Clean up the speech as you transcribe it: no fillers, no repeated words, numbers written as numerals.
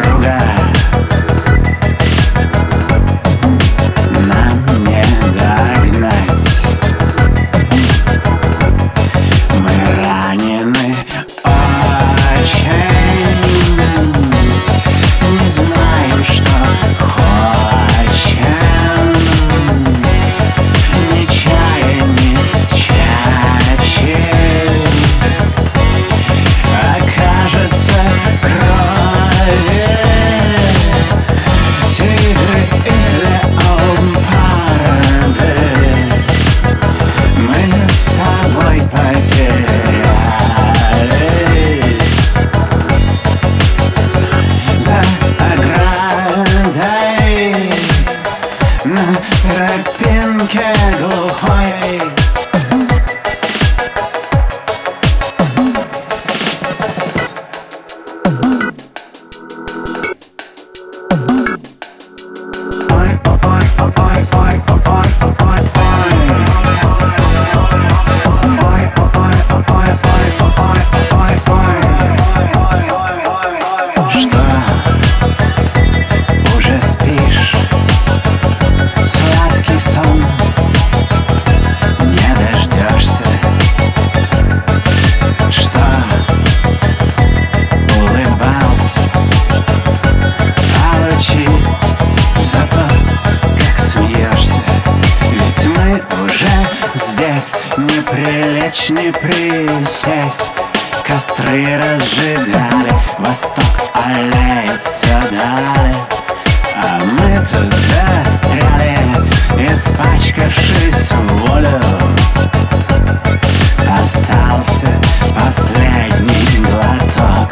друга нам не догнать. Мы ранены очень, не знаем, что хочем, ни чая, ни чачи. Окажется крови тигры или леопарды. Мы с тобой потерялись за оградой на тропинке глухой. Что, уже спишь? Сладкий сон не дождешься. Что, улыбался? Получи за то, как смеешься. Ведь мы уже здесь, не прилечь, не присесть. Костры разжигали, восток аллеет все дали, а мы тут застряли, испачкавшись в волю. Остался последний глоток.